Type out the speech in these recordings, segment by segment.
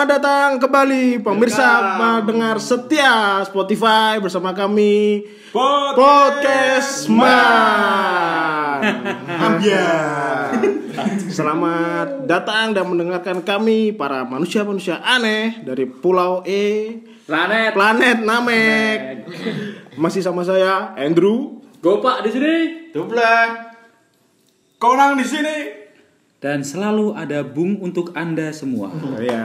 Selamat datang kembali pemirsa pendengar setia Spotify bersama kami Podcast Man. Selamat datang dan mendengarkan kami para manusia-manusia aneh dari Pulau Planet Namek. Masih sama saya Andrew, Gopak di sini, Dublek, Konang di sini, dan selalu ada Bung untuk Anda semua. Ya.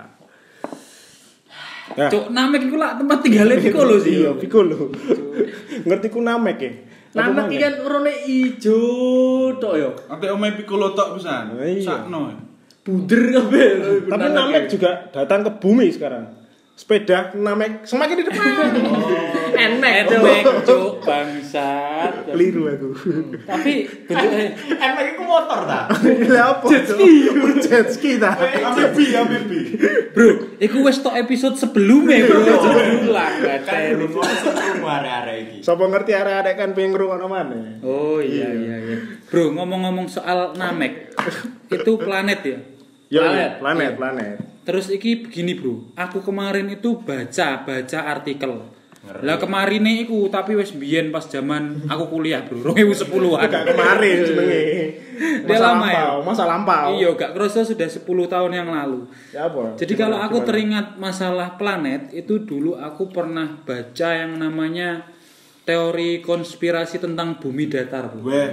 Cuk, Namek iku lah tempat tinggalnya Piccolo sih. Iya, Piccolo. Ngerti ku Namek ya? Namek iki kan warna ijo tok yo. ate omae Piccolo tok pisan. Iya. Sakno. Buder kabeh. Tapi Namek juga datang ke bumi sekarang. Sepeda Namek semakin di depan. Enek Namek, cuk, bangsat. Keliru aku. Tapi bentuknya Emek iku motor ta? Lah apa? Jet ski ta. Ambil. bro, iku wis tok episode sebelumnya bro. Ulang Kan gaten. rumah arek-arek iki. Sapa ngerti arek-arek kan pengen ngrungokno maneh. Oh iya. Bro, ngomong-ngomong soal Namek. Itu planet ya? Ya, planet. Terus iki begini bro, aku kemarin itu baca artikel. Lah kemarin iku tapi wis biyen pas zaman aku kuliah bro, 2010-an. Gak kemarin jenenge. Dia lama ya? Masa lampau. Iya, gak kerasa sudah 10 tahun yang lalu. Ya apa? Jadi kalau aku teringat masalah planet, itu dulu aku pernah baca yang namanya teori konspirasi tentang bumi datar bro. Weh.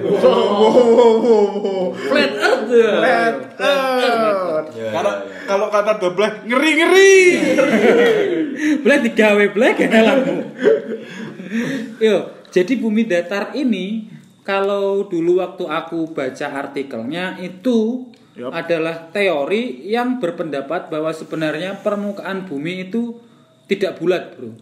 Flat Earth ya. Kalau kata Dublek ngeri-ngeri. Boleh digawe black helmmu. Yo, jadi bumi datar ini kalau dulu waktu aku baca artikelnya itu adalah teori yang berpendapat bahwa sebenarnya permukaan bumi itu tidak bulat, bro.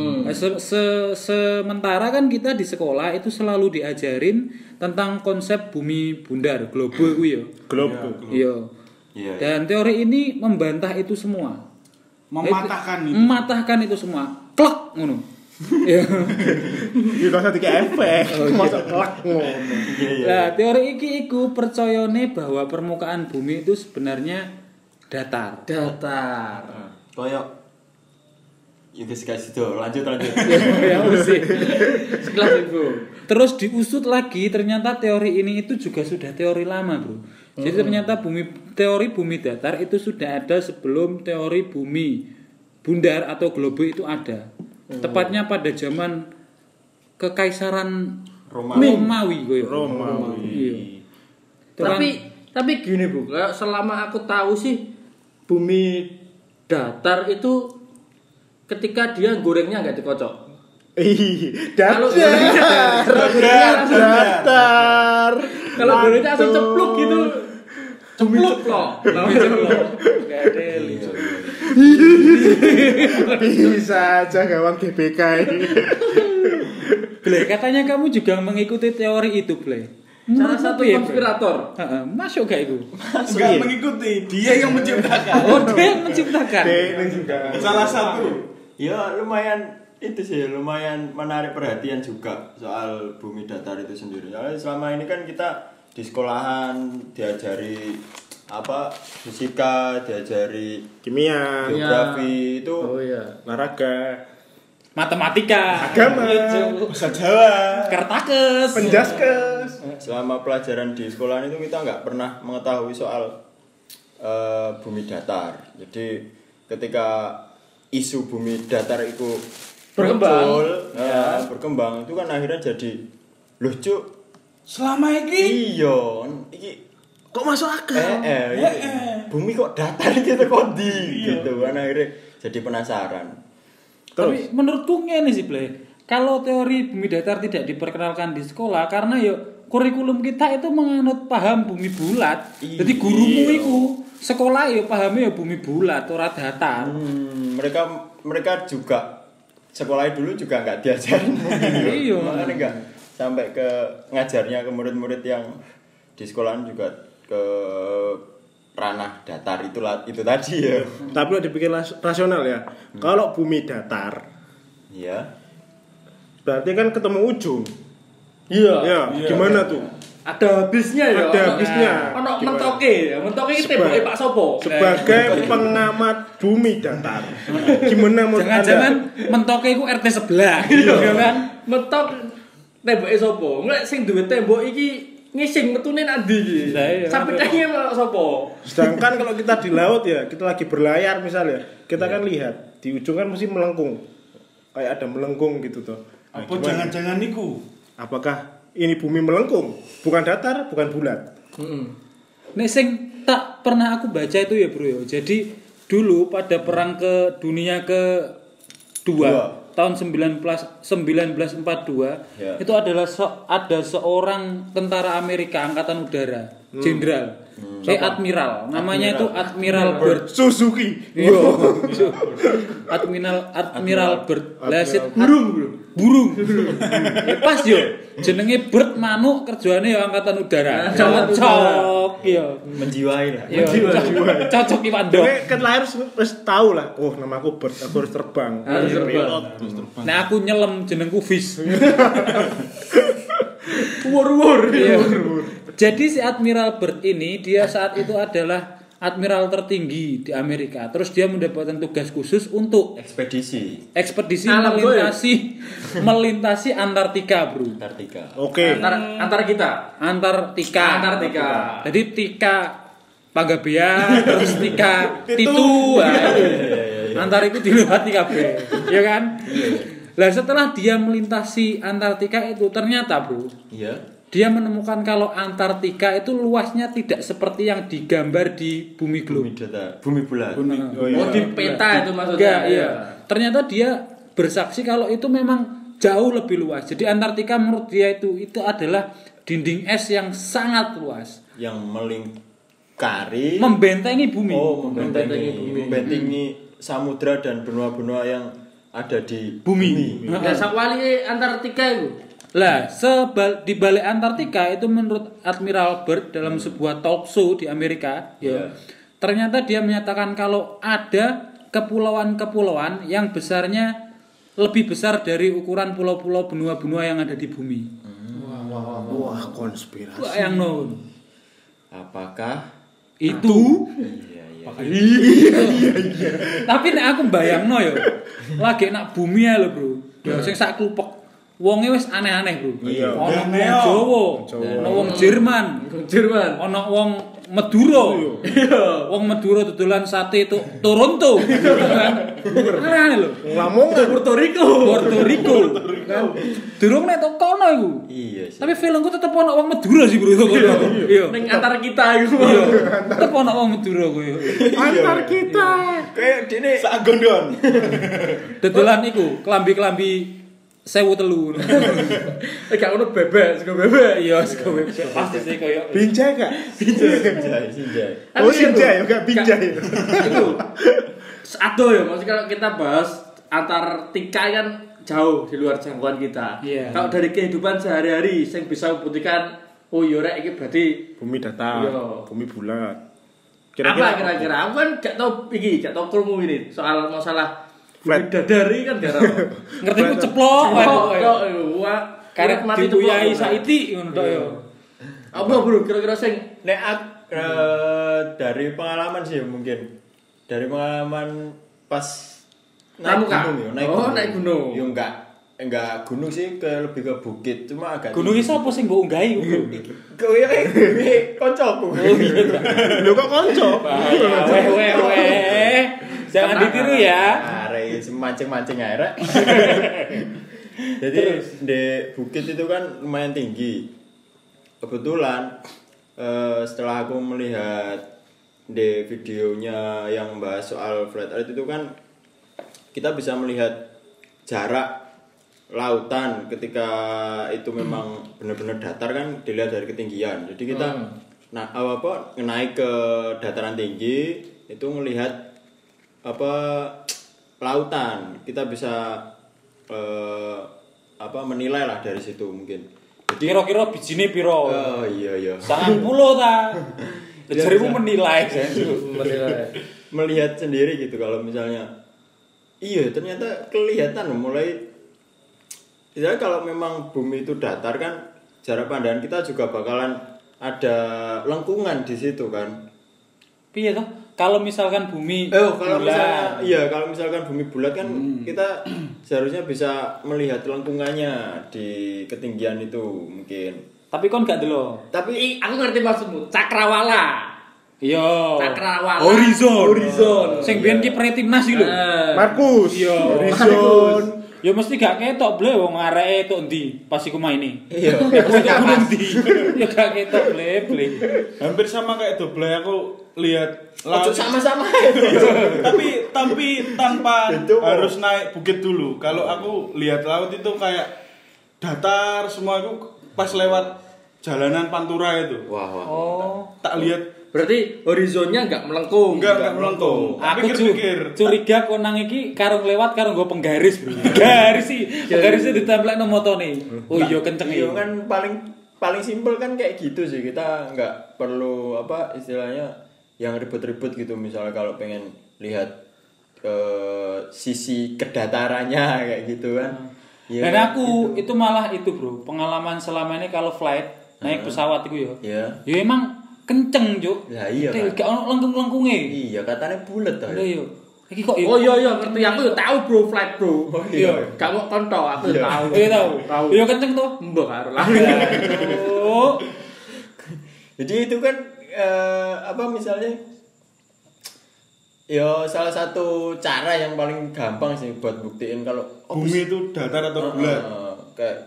Sementara kan kita di sekolah itu selalu diajarin tentang konsep bumi bundar, globe kuwi yo. Globe. Iya. Iya. Dan teori ini membantah itu semua. Mematahkan itu semua. Klek ngono. Iya. Iki kok dadi efek. Masa kelak ngono. Nah, teori iki iku percayane bahwa permukaan bumi itu sebenarnya datar. Koyok investigasi tuh, lanjut. Ya mesti. Sekelas itu. Terus diusut lagi ternyata teori ini itu juga sudah teori lama, bro. Jadi ternyata teori bumi datar itu sudah ada sebelum teori bumi bundar atau globe itu ada. Tepatnya pada zaman kekaisaran Romawi. Iya. Tapi gini Bu, kayak selama aku tahu sih bumi datar itu ketika dia gorengnya nggak dikocok. Kalau Datar. Kalau gorengnya langsung cepluk gitu. Cepluk loh. Bisa aja gawang GBK ini. Ble, katanya kamu juga mengikuti teori itu, Ble. Salah satu konspirator. Heeh, masuk gak itu? Enggak mengikuti, dia yang menciptakan. Oh, dia yang menciptakan. Salah satu. Ya lumayan menarik perhatian juga soal bumi datar itu sendiri. Soalnya selama ini kan kita di sekolahan diajari fisika, diajari Kimia, geografi itu, olahraga, Matematika, agama, bahasa Jawa, Kertakes, penjaskes. selama pelajaran di sekolahan itu kita nggak pernah mengetahui soal bumi datar. Jadi ketika isu bumi datar itu berkembang itu kan akhirnya jadi lucu. Selama ini Kok masuk akal? Bumi kok datar gitu gitu kan akhirnya jadi penasaran. Tapi menurutku ngene sih, Ble. Kalau teori bumi datar tidak diperkenalkan di sekolah karena kurikulum kita itu menganut paham bumi bulat. Jadi gurumu iku sekolah pahamnya bumi bulat ora datar. Mereka juga sekolah dulu juga nggak diajarin. Iya, makanya nggak sampai ke ngajarnya ke murid-murid yang di sekolahan juga ke ranah datar itu tadi ya. Tapi kalau dipikir rasional ya, kalau bumi datar, Iya. berarti kan ketemu ujung. Iya. Ya, gimana tuh? ada habisnya ya. Ada habisnya. Ono mentoke iki temboke Pak Sopo. Sebagai pengamat bumi datar. Gimana menurut Anda? Jangan-jangan mentoke iku RT sebelah. Iya kan? Mentok temboke Sopo. Nek sing duwe tembok iki ngising metune nang ndi iki? Sampai tenge Pak Sopo. Sedangkan kalau kita di laut ya, kita lagi berlayar misalnya, kita kan lihat di ujung kan mesti melengkung. Kayak ada melengkung gitu tuh. Nah, Apa jangan-jangan niku? apakah ini bumi melengkung? Bukan datar, bukan bulat. Nek sing tak pernah aku baca itu ya bro ya. Jadi dulu pada perang ke dunia kedua tahun 1942 Ya. itu adalah ada seorang tentara Amerika angkatan udara, jenderal, admiral, namanya itu Admiral Byrd. Suzuki. Iya. Admiral Byrd. Lah burung. Pas yo jenenge Byrd manuk kerjane ya angkatan udara. Cocok yo. Menjiwai lah. Yo, cocok iki Pak Dok. Jadi kan lahir wis tahu lah. Oh, namaku Bert, aku harus terbang. Harus terbang. Nah aku nyelam jenengku Fish. Wur-wur. Iya. Jadi si Admiral Byrd ini dia saat itu adalah admiral tertinggi di Amerika. Terus dia mendapatkan tugas khusus untuk Ekspedisi ekspedisi Alam melintasi Antartika, Bro. Antartika. Oke. Antara kita. Antartika. Jadi Tika Panggabean, terus Tika Titu. Antar itu dilewati kabeh. Ya kan? Lah setelah dia melintasi Antartika itu ternyata, Bro, Iya. dia menemukan kalau Antartika itu luasnya tidak seperti yang digambar di bumi Bumi globe. datar, bumi bulat. Oh, di peta itu maksudnya. Enggak, iya. Ternyata dia bersaksi kalau itu memang jauh lebih luas. Jadi Antartika menurut dia itu adalah dinding es yang sangat luas, Yang melingkari membentengi bumi. membentengi samudra dan benua-benua yang ada di Bumi. Nah, sakwali Antartika itu. Lah, di balik Antartika itu menurut Admiral Byrd dalam sebuah talk show di Amerika, ya, ternyata dia menyatakan kalau ada kepulauan-kepulauan yang besarnya lebih besar dari ukuran pulau-pulau benua-benua yang ada di bumi. Wah, konspirasi. Wah, yang non. apakah Itu iya. tapi nek aku bayangno ya, lagi nak bumi ya lho, Bro. Ya sing sak klupek. Wonge wis aneh-aneh, Bro. Iya. Ono wong Jawa, ono wong Jerman, ono wong Madura. Iya. Wong Madura dodolan sate itu Toronto. Aneh lho. Lamongan. Puerto Rico. Kan. Durung nek tok kono iku. Iya sih. Tapi filmku tetep ono wong Madura sih, Bro, kono. Iya. Ning antara kita iku. Iya. Tetep ono wong Madura kuwi. Antar kita. Kayak dene Sak gondon. Dodolan iku, klambi-klambi 1003. Gak ono bebek, sego bebek. Iya, sego bebek. Pasti sih koyo. Binjai gak? Sinjai. Oh, Sinjai, enggak Binjai. Itu aduh ya, maksudnya kalau kita bahas Antartika kan jauh di luar jangkauan kita. Iya. Kalau dari kehidupan sehari-hari yang bisa membuktikan oh iya rek iki berarti Bumi datar, Iya. bumi bulat. apa kira-kira? Aku kan gak tau krungu ini soal masalah Flat. dadari kan gak tau. Ngerti ku ceplok wae pokoke. Wah, Karek mati dibuyai ceplok. saiti ngono tok ya. Apa bro kira-kira sing Nek dari pengalaman sih mungkin. Dari pengalaman pas Pramuka? gunung ya, Oh, naik gunung. Ya enggak gunung sih, lebih ke bukit, cuma agak Gunung iki sapa sing mbok unggahi, Bro? kowe kancaku. Lho kok konco? Weh. Jangan ditiru ya. Arek mancing-mancing ae rek. Jadi di bukit itu kan lumayan tinggi. Kebetulan setelah aku melihat di videonya yang bahas soal flat earth itu kan kita bisa melihat jarak lautan ketika itu memang benar-benar datar kan dilihat dari ketinggian. Jadi kita naik ke dataran tinggi itu melihat lautan. Kita bisa menilai lah dari situ mungkin. Jadi Kira-kira bijine piro? oh iya. 90 ta. Jarimu menilai, Melihat sendiri gitu kalau misalnya iya ternyata kelihatan mulai. Misalnya kalau memang bumi itu datar kan jarak pandangan kita juga bakalan ada lengkungan di situ kan. Piye toh? Kalau misalkan bumi Kalau bulat. misalkan bumi bulat kan kita seharusnya bisa melihat lengkungannya di ketinggian itu mungkin. Tapi kon gak delok. Tapi Aku ngerti maksudmu. Cakrawala. Iya. Cakrawala. Horizon. Sing biyen kiper timnas iki lho. Markus. Iya. Horizon. Ya mesti gak ketok ble wong areke tok ndi pas iku maine. iya. Ya mesti tok gunung ndi. Ya gak ketok ble. Hampir sama kayak double aku lihat Ojo sama-sama. tapi tanpa Itu harus naik bukit dulu. Kalau aku lihat laut itu kayak datar semua, aku pas lewat jalanan Pantura itu. Wah. Oh. Tak lihat Berarti horizonnya enggak melengkung. enggak melengkung. Aku Tapi pikir curiga konang iki karung lewat karung nggo penggaris, Bro. Garis sih. Penggarisnya ditemplekno motone. Oh iya kenceng Iya iki. kan paling simpel kan kayak gitu sih. Kita nggak perlu apa istilahnya yang ribet-ribet gitu. Misalnya kalau pengen lihat sisi kedatarannya kayak gitu kan. Ya, Dan aku itu malah itu, Bro. Pengalaman selama ini kalau flight naik pesawat itu ya. Iya. Ya emang kenceng, Juk. Lah iya, Gak Kak. ono lengkung-lengkunge. Iya katanya bulat Lho tadi. yo. Iki kok Oh iya ngerti aku yo tahu bro flight bro. Oh, iya. Gak mau konto aku Iya. tahu. Iya tahu. Tahu. Iya kenceng tuh. Mbok karo lah. Oh. Jadi itu kan apa misalnya ya salah satu cara yang paling gampang sih buat buktiin kalau bumi itu datar atau bulat. kayak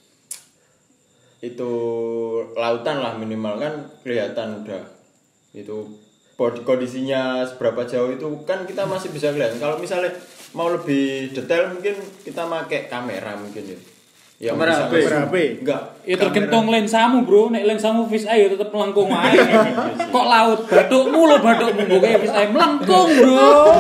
itu lautan lah minimal kan kelihatan udah itu kondisinya seberapa jauh itu kan kita masih bisa kelihatan. Kalau misalnya mau lebih detail mungkin kita pakai kamera mungkin ya. Yang Kamera bisa HP. nge-zoom. Kamera HP. Enggak. Ya tergantung lensamu, Bro. Nek lensamu fish eye ya tetep melengkung wae. Kok laut bathukmu lho bathukmu mbok kayak fish eye melengkung, Bro.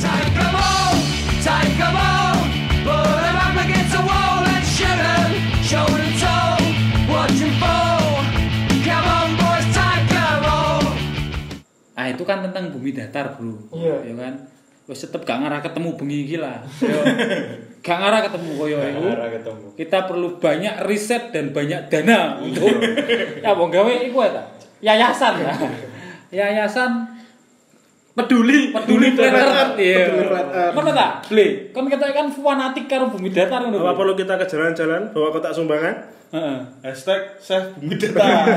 Take 'em on, put 'em up against the wall and shoot 'em, shoulder to toe, watch 'em fall. Come on boys, take 'em on. Ah itu kan tentang bumi datar, Bro. Iya. Ya kan. Wis tetep gak ngarah ketemu bengi iki lah. Yo. Gak ngarah ketemu koyo iku. Kamera ketemu. Kita perlu banyak riset dan banyak dana untuk ya wong gawe iku ya ta. Yayasan ya. Yayasan peduli flat earth. Iya. Peduli flat earth. Ngono ta? Ble, kon ketok kan fanatik karo bumi datar ngono. Apa perlu kita ke jalan-jalan bawa kotak sumbangan? Heeh. Hashtag save bumi datar.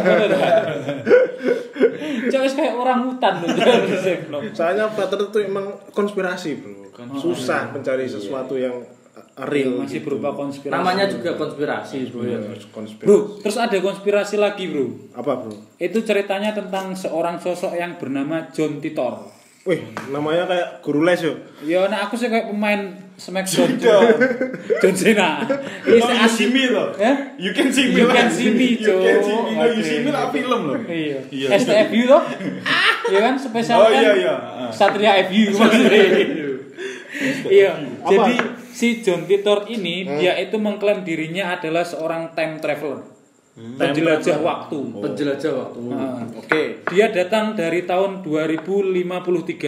Cok wis kayak orang hutan lho. Soalnya flat earth itu emang konspirasi, Bro. Susah mencari sesuatu yang real. Masih gitu. berupa konspirasi. Namanya juga konspirasi bro. Iya, konspirasi. Bro, terus ada konspirasi lagi, Bro. Apa, Bro? Itu ceritanya tentang seorang sosok yang bernama John Titor. Wih, namanya kayak guru les yo. Ya, nah aku sih kayak pemain Smackdown. John Cena. Ini No, you see me loh. Ya? You can see me. You lah. can see me, You can see me. No, you Oke. see me lah film loh. Iya. Iya. STFU toh? Iya kan spesial Oh, kan? iya, iya. Satria FU maksudnya. Iya. Jadi si John Titor ini dia itu mengklaim dirinya adalah seorang time traveler. Penjelajah waktu. Penjelajah waktu. Nah, Oke. dia datang dari tahun 2053.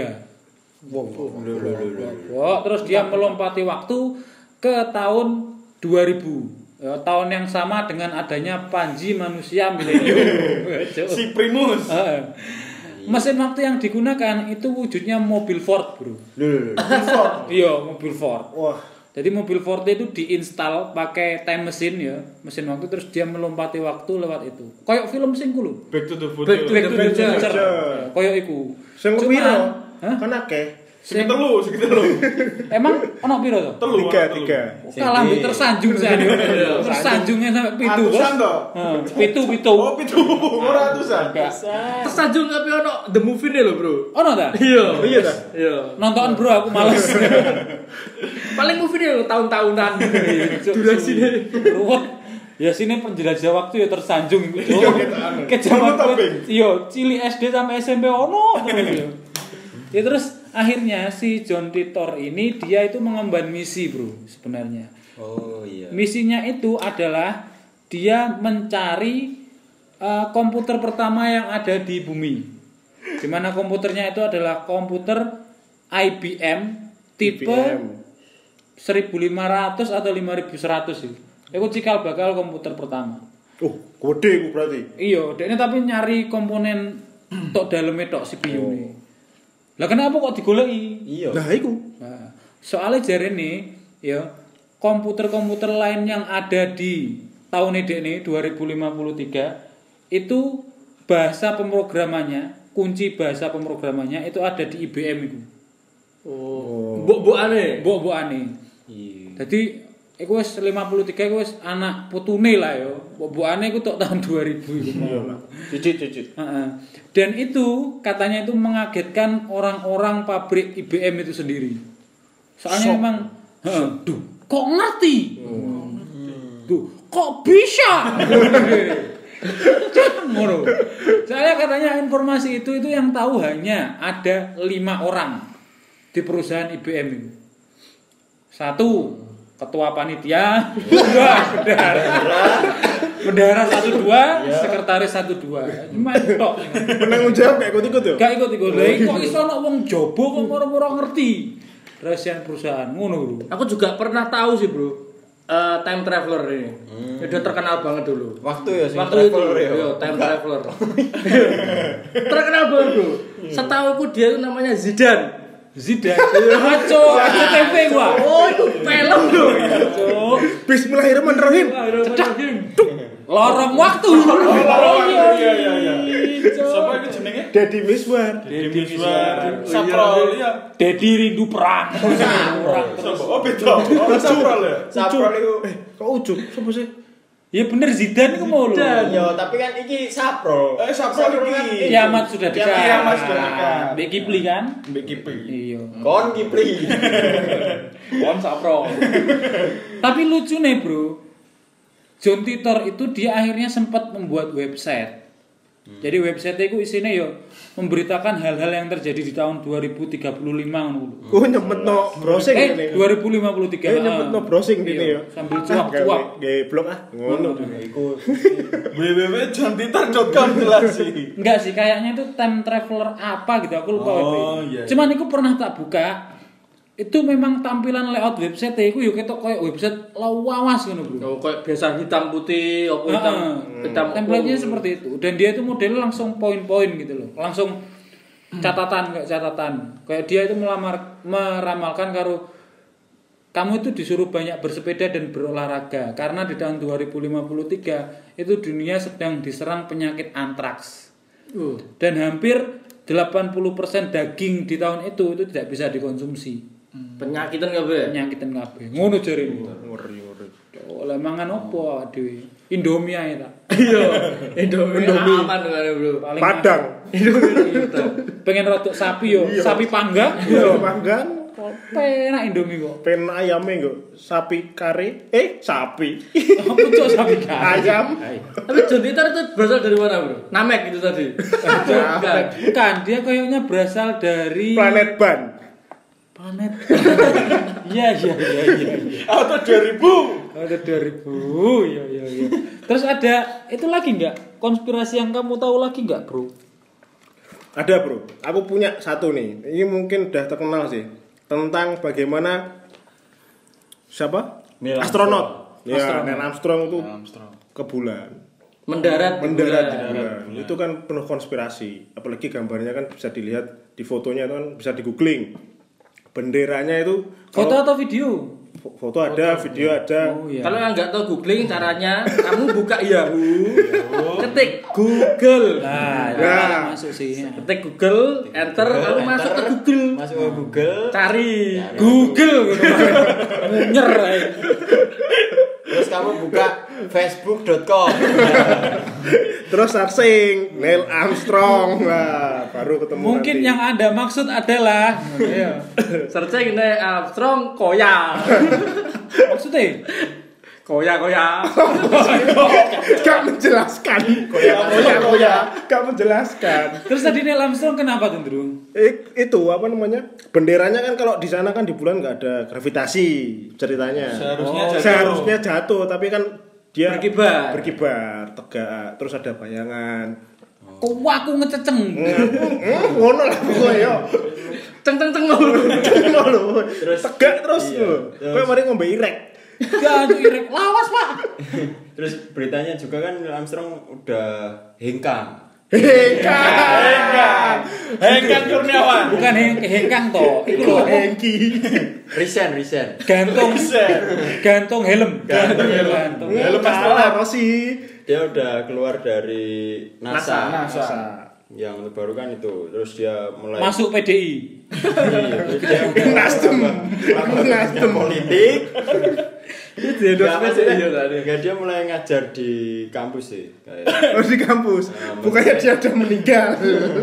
Terus dia melompati waktu ke tahun 2000. Ya, tahun yang sama dengan adanya Panji manusia milenium. Si Primus. Heeh. Mesin waktu yang digunakan itu wujudnya mobil Ford, Bro. Iya, mobil Ford. Wah, Jadi mobil Ford itu diinstal pakai time machine ya, mesin waktu terus dia melompati waktu lewat itu. Kayak film sing ku lho. Back to the Back future. to Back to the Future. Future. Kayak iku. sing Cuman, piro? hah? Kan akeh. Sekitar lu. Emang ono piro to? Telu. Tiga. Kalah mbek tersanjung saya. Tersanjungnya sampai pitu, Bos. Ratusan toh? Heeh, pitu. Oh, pitu. Ratusan. Tersanjung tapi ono the movie nih lo bro. Ono ta? Iya. Iya ta? Iya. Nonton Bro, aku males. Paling movie nih lo tahun-tahunan. Durasi nih. Ruwet. Ya sini penjelajah waktu ya tersanjung iku. Iya, kita anu. Ke zaman Dulu gue, iya, cilik SD sampai SMP ono terus ya. Ya terus akhirnya si John Titor ini dia itu mengemban misi, Bro, sebenarnya. Oh iya. Misinya itu adalah dia mencari komputer pertama yang ada di bumi. Di mana komputernya itu adalah komputer IBM tipe 1500 atau 5100 sih. Itu cikal bakal komputer pertama. Oh, gede ku berarti. Iya, dekne tapi nyari komponen tok daleme tok CPU ne. Lah kenapa kok digoleki? Iya. Nah, iku. Nah, soalnya jarene ya komputer-komputer lain yang ada di tahun ini 2053 itu bahasa pemrogramannya, kunci bahasa pemrogramannya itu ada di IBM itu. Oh. Mbok-mbokane. Mbok-mbokane. Iya. Jadi iku wis 53 iku wis anak putune lah ya. Mbok-mbokane iku tok tahun 2000 iku. Cicit. Heeh. Dan itu katanya itu mengagetkan orang-orang pabrik IBM itu sendiri. Soalnya memang duh, kok ngerti? Duh, kok bisa? Ngono. Soalnya katanya informasi itu yang tahu hanya ada 5 orang di perusahaan IBM itu. 1 ketua panitia, 2 bendahara 1 2, sekretaris 1 2. Cuma tok. Penanggung jawab gak ikut-ikut ya? Gak ikut-ikut. Lah kok iso ana wong jaba kok ora ngerti rahasia perusahaan ngono, Bro. Aku juga pernah tahu sih, Bro. Time traveler ini. Udah terkenal banget dulu. Waktu ya, Waktu itu, time traveler. Terkenal banget, Bro. Setahuku dia itu namanya Zidane. Maco, TV gua. Oh, itu film lho. Cuk. Bismillahirrahmanirrahim. Lorong waktu. Iya. Siapa ini jenenge? Deddy Miswar. Deddy Miswar. Saprol ya. Dedi rindu perang. Siapa? Oh, beda. Oh, Saprol ya. Saprol itu. Kok Ucup? Siapa sih? Ya bener Zidane iku mau lho. Ya, tapi kan iki Saprol. Saprol kan iki. Kiamat sudah dekat. Kiamat sudah dekat. Mbek Kipli kan? Mbek Kipi. Iya. Kon Kipli. Kon Sapro. Tapi lucu nih, Bro. John Titor itu dia akhirnya sempat membuat website. Jadi website itu isinya ya memberitakan hal-hal yang terjadi di tahun 2035 ngono. Oh, nyempetno browsing ini. 2053. Nyempetno browsing dini ya. Sambil cuap-cuap. Gawe blog ngono. Iku www.jantitar.com jelas sih. Enggak sih, kayaknya itu time traveler apa gitu, aku lupa. Iya. Cuman aku pernah tak buka. Itu memang tampilan layout website iku yo ketok koyo website lawas ngono, Bro. Oh, kayak biasa hitam putih, apa hitam Template-nya seperti itu. Dan dia itu modelnya langsung poin-poin gitu loh. Langsung catatan kayak catatan. Kayak dia itu meramalkan karo kamu itu disuruh banyak bersepeda dan berolahraga karena di tahun 2053 itu dunia sedang diserang penyakit antraks. Dan hampir 80% daging di tahun itu tidak bisa dikonsumsi. penyakitan kabeh. Penyakitan kabeh. Ngono jarene. Ngeri. Oh, lah mangan opo dhewe? Indomie ae ta. Iya, Indomie aman kan, Bro. Paling Padang. pengen rodok sapi yo, sapi panggang. Iya, panggang. Penak Indomie kok. Pen ayame nggo sapi kare. Sapi. Apa cok sapi kare? Ayam. Tapi John Titor itu berasal dari mana, Bro? Namek itu tadi. Bukan, dia kayaknya berasal dari Planet Ban. Planet. Iya. Atau 2000. Ada 2000. Iya. Terus ada itu lagi enggak? Konspirasi yang kamu tahu lagi enggak, Bro? Ada, Bro. Aku punya satu nih. Ini mungkin udah terkenal sih. Tentang bagaimana siapa? Neil Astronot. Ya, Neil Armstrong itu ke bulan. Mendarat di bulan. Itu kan penuh konspirasi. Apalagi gambarnya kan bisa dilihat di fotonya itu kan bisa di googling. Benderanya itu Foto atau video? Foto ada, video ada. Oh, iya. Kalau yang nggak tahu googling caranya, kamu buka Yahoo, ketik Google. Nah, masuk sih. Ketik Google, enter, lalu masuk ke Google. Masuk ke Google. Cari. Google gitu. Nyer. Terus kamu buka facebook.com. Terus searching Neil Armstrong. Nah, baru ketemu. Mungkin nanti. yang Anda maksud adalah Searching Neil Armstrong koya. maksudnya Koya. Gak menjelaskan. Koya. Gak menjelaskan. terus tadi Neil Armstrong kenapa tuh, Bro? Itu apa namanya? Benderanya kan kalau di sana kan di bulan nggak ada gravitasi ceritanya. Seharusnya jatuh, tapi kan dia berkibar, tegak, terus ada bayangan. Kok aku ngececeng. Ngono lah pokoknya. Ceng. Terus tegak terus. Kayak mari ngombe irek. Jangan irek lawas, Pak. Terus beritanya juga kan Neil Armstrong udah hengkang. Hengkang Kurniawan. Bukan hengkang toh, itu loh Hengki. Resign. gantung helm. Helm kalah Rossi. Dia udah keluar dari NASA. Yang terbaru kan itu. Terus dia mulai Masuk PDI. Nasdem politik. Itu Dia mulai ngajar di kampus sih kayak. Oh, di kampus. Bukannya dia udah meninggal.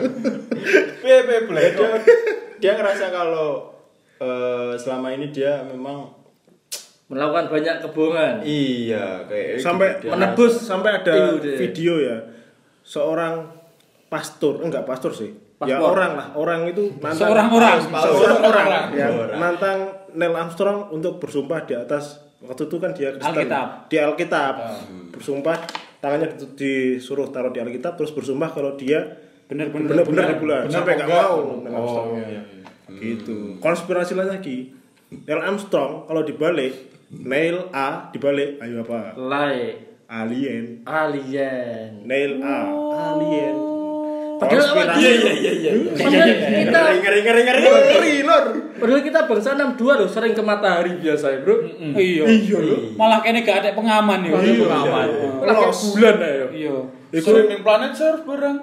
Dia ngerasa kalau selama ini dia memang melakukan banyak kebohongan. iya kayak Sampai gitu. menebus sampai ada Iya. video ya. Seorang enggak pastor sih. Ya Paspor. orang itu nantang Seorang orang. yang nantang Neil Armstrong untuk bersumpah di atas waktu itu kan dia Kristen di Alkitab bersumpah tangannya disuruh taruh di Alkitab terus bersumpah kalau dia benar-benar di bulan sampai nggak mau Neil Armstrong gitu. Konspirasi lagi Neil Armstrong kalau dibalik Neil A dibalik ayo apa alien Neil A alien. Padahal Padahal kita bangsa 62 loh sering ke matahari biasa ya, Bro. Iya lho. Malah kene gak ada pengaman ya. Pengaman. Lagi bulan ayo. Iya. Iku ning planet surf bareng.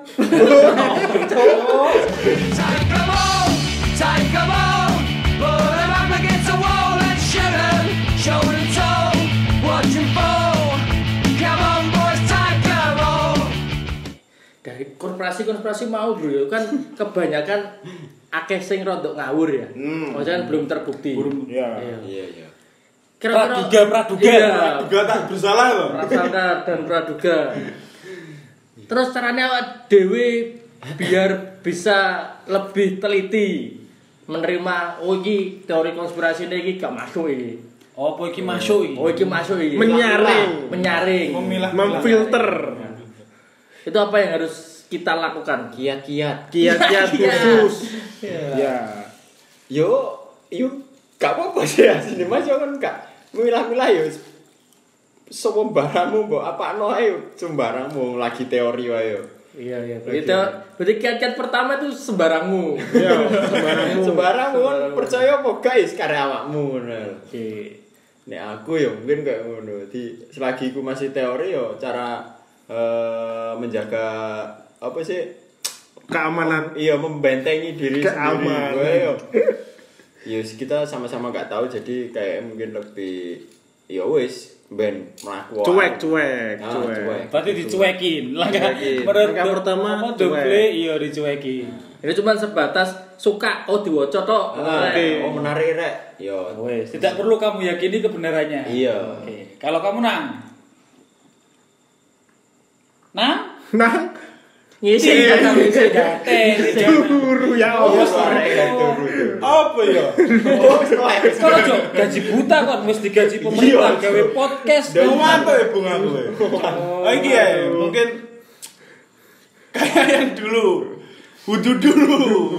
Time come on, put 'em up against the wall and shoot 'em, shoulder to toe, watch 'em fall. Come on boys, time come on. Dari konspirasi mau, Bro, ya kan kebanyakan akeh sing rodok ngawur ya. Maksudnya kan belum terbukti. Iya. Iya. Kira-kira Praduga. Iya. Juga tak bersalah loh. Prasangka dan praduga. Terus caranya awak dhewe biar bisa lebih teliti menerima iki teori konspirasi ini gak masuk iki. Apa iki masuk iki? Oh iki masuk iki. Menyaring. Memfilter. Itu apa yang harus kita lakukan? Kiat-kiat Khusus. Ya. Yo gak apa-apa sih asline Mas yo kan gak milah-milah yo semua barangmu mbok apakno ae sembarangmu lagi teori wae yo. Iya. Berarti kiat-kiat pertama itu sembarangmu. Iya, Sembarangmu kan percaya apa guys karya awakmu ngono. Oke. Nek aku ya mungkin kayak ngono. Jadi selagi aku masih teori yo cara menjaga apa sih keamanan. Iya membentengi diri Keamanan. sendiri. Yo. Ya kita sama-sama gak tahu jadi kayak mungkin lebih ya wis ben mlaku. Cuek. Berarti dicuekin. Langkah pertama double iya dicuekin. Ini cuma sebatas suka diwaca tok. Oke. Oh menarik rek. Yo. Wes. Tidak perlu kamu yakini kebenarannya. Iya. Oke. Kalau kamu nang Ngisi kan ngisi. Guru ya Allah. Apa ya? Kalau gaji buta kok wis digaji pemerintah gawe podcast. Mantap ya Bung aku. Oh iki ya mungkin kayak yang dulu. Wudu dulu.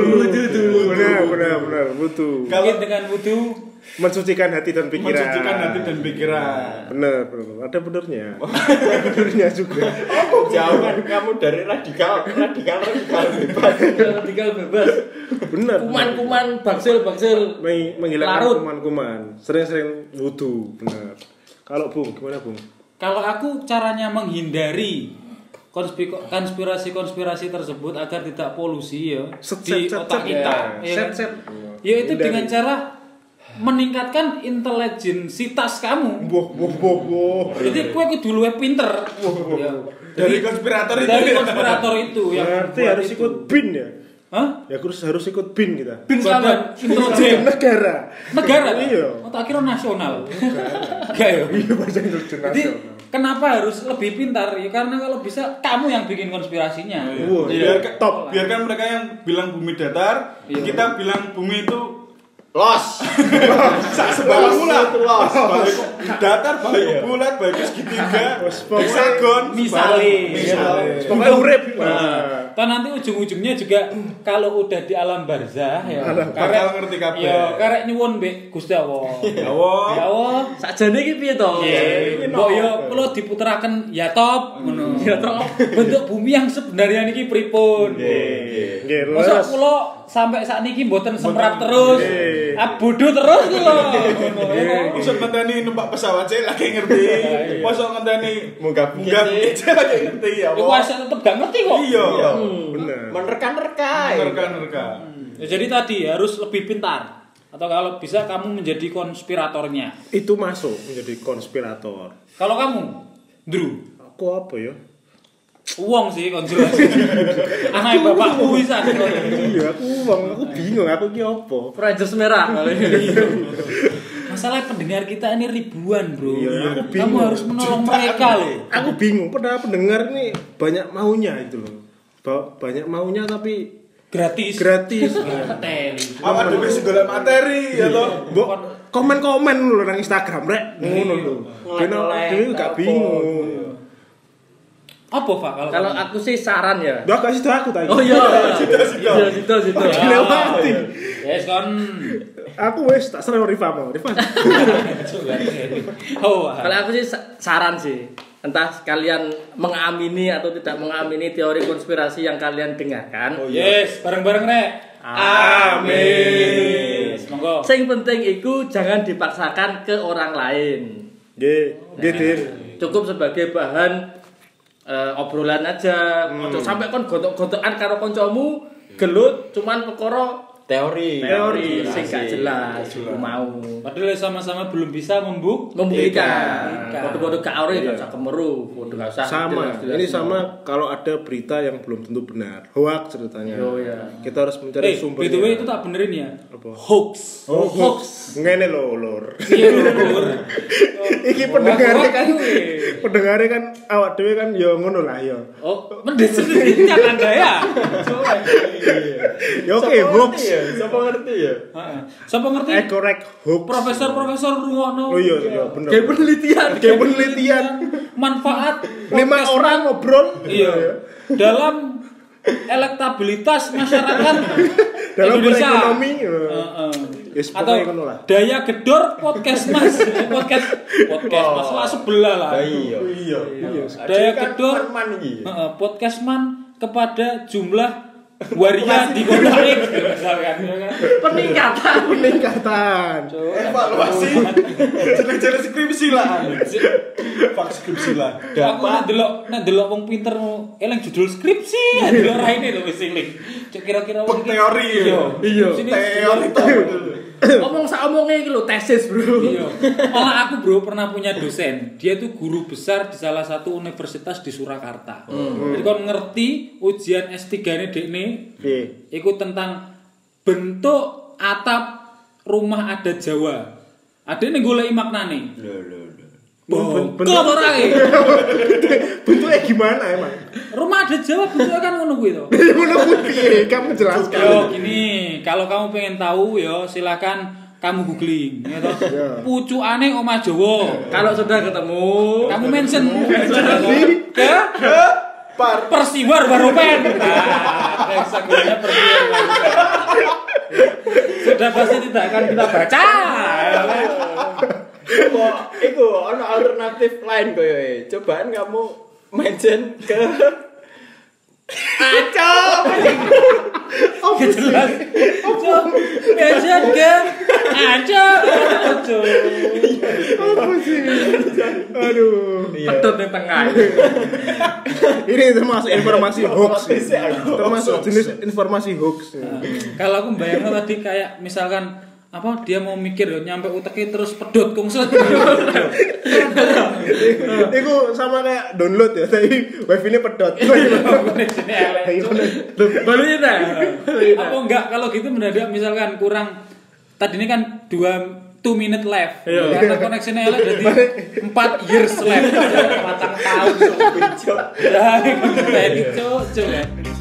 Benar. Butuh. Mungkin dengan wudu Mensucikan hati dan pikiran. Benar. Ada benernya. Benernya juga. Jauhan kamu dari radikal bebas. Radikal bebas. Benar. Kuman-kuman bangsil menghilangkan larut. kuman-kuman. Sering-sering wudu, benar. Kalau Bung, gimana Bung? Kalau aku caranya menghindari konspirasi tersebut agar tidak polusi ya di otak kita. Ya itu dengan cara meningkatkan intelijensitas kamu. Jadi kue kudu luwih pinter. Dari konspirator itu yang berarti harus itu. ikut BIN ya? Hah? Ya harus ikut BIN kita. Bin sama intelijen Negara. Iya. Oh, tak kira nasional. Enggak ya. Iya bahasa Indonesia Jadi nasional. kenapa harus lebih pintar? Ya karena kalau bisa kamu yang bikin konspirasinya. Wah, Biar top. biarkan mereka yang bilang bumi datar, kita bilang bumi itu Los. Sak sebelah mula. Los. Datar baik bulat, baik segitiga, heksagon, Misale. Pokoknya urip. Toh nanti ujung-ujungnya juga kalau udah di alam barzah ya. Bakal ngerti kabeh. Ya, karek nyuwun mbek Gusti Allah. Ya Allah. Ya Allah. Sakjane iki piye to? Mbok yo kula diputeraken ya top ngono. Ya top. Bentuk bumi yang sebenarnya niki pripun. Nggih, Masa kula sampai saat niki mboten semprap terus. Bodoh terus kula. Masa ngenteni numpak pesawat saya lagi ngerti. Masa ngenteni Munggah saya lagi ngerti ya Iku Allah. asal tetep gak ngerti kok. Iya. bener. Menerka-nerka. Nerka-nerka. Ya, jadi tadi harus lebih pintar. Atau kalau bisa kamu menjadi konspiratornya. Itu masuk menjadi konspirator. Kalau kamu, Drew, Aku apa ya? uang sih konspirasi. Anak bapakku bisa. Iya, aku bingung aku ki apa. Rangers merah. Masalah pendengar kita ini ribuan, Bro. Iya, aku bingung. Kamu harus menolong mereka loh. Aku bingung, padahal pendengar nih banyak maunya itu loh. Banyak maunya tapi Gratis. Apa dhewe sing golek materi ya toh? Mbok komen-komen lho nang Instagram rek. Ngono lho. Ben dhewe gak bingung. Apa, Pak? Kalau aku sih saran ya. Dah kasih tahu aku tadi. Oh iya. Situ. Dilewati. Yes, kon. Aku wis tak serah Rifa mau. Rifa. Oh. Kalau aku sih saran sih. Entah kalian mengamini atau tidak mengamini teori konspirasi yang kalian dengarkan. Oh, yes, bareng-bareng rek. Amin. Monggo. Sing penting iku jangan dipaksakan ke orang lain. Nggih, Dir. Cukup sebagai bahan obrolan aja. Ojo sampai kon gontok-gontokan karo kancamu gelut cuman perkara Teori sing gak jelas iku mau. Padahal sama-sama belum bisa Membuktikan. Bodoh-bodoh gak ora gak usah kemeru, bodoh gak usah. Sama. Ini sama kalau ada berita yang belum tentu benar. Hoax ceritanya. Oh iya. Kita harus mencari sumbernya. BTW itu tak benerin ya. Apa? Hoax. Hoax. Ngene lho, Lur. Iya, Lur. Iki pendengarnya kan awak dhewe kan ya ngono lah ya. Oh, mendes sendiri kan Anda ya. Ya oke, hoax. Siapa ngerti ya? Heeh. Siapa ngerti? Korek hoax. Profesor rungokno. Oh iya bener. Kayak penelitian. Manfaat 5 orang ngobrol. Iya. Dalam elektabilitas masyarakat Dalam Indonesia. ekonomi. Yes, Atau pokoknya ngono lah. daya gedor podcast mas mas lah sebelah lah. Iya. Daya gedor iki. podcast man kepada jumlah waria di kota X misalkan ya kan. Peningkatan. Evaluasi. Jeneng-jeneng skripsi lah. Pak skripsi lah. Aku nek delok wong pinter eling judul skripsi, delok raine to wis eling. Kira-kira Teori. Iya. Teori to. Ngomong saomongnya iki lho tesis, Bro. Iya. Malah aku bro pernah punya dosen. Dia tuh guru besar di salah satu universitas di Surakarta. Jadi kon ngerti ujian S3-ne dekne iku tentang bentuk atap rumah adat Jawa. Adene goleki maknane. Bentuk ora iki. Bentuknya gimana emang? Rumah adat Jawa bentuknya kan ngono kuwi to. Ngono kuwi kamu jelaskan. Yo gini, kalau kamu pengen tahu yo silakan kamu googling ya toh. Pucukane omah Jawa. Kalau sudah ketemu, Kamu mention ke Persiwar Baropen. Nah, eksekusinya Persiwar Baropen. Sudah pasti tidak akan kita baca. Iku ono alternatif lain koyo. Cobaan kamu mention ke Aco. Jelas. Mention ke Aco. Apa sih? Aduh. pedot ning tengah. Ini termasuk informasi hoax. Termasuk jenis informasi hoax. Kalau aku bayangin tadi kayak misalkan apa dia mau mikir nyampe uteknya terus pedot kungslet. Itu sama kayak download ya, tapi wifi-nya pedot. Balunya dah. Apa enggak kalau gitu mendadak misalkan kurang tadi ini kan 2 minute left. Karena koneksinya elek jadi 4 years left. 4 tahun. Ya, itu cuk.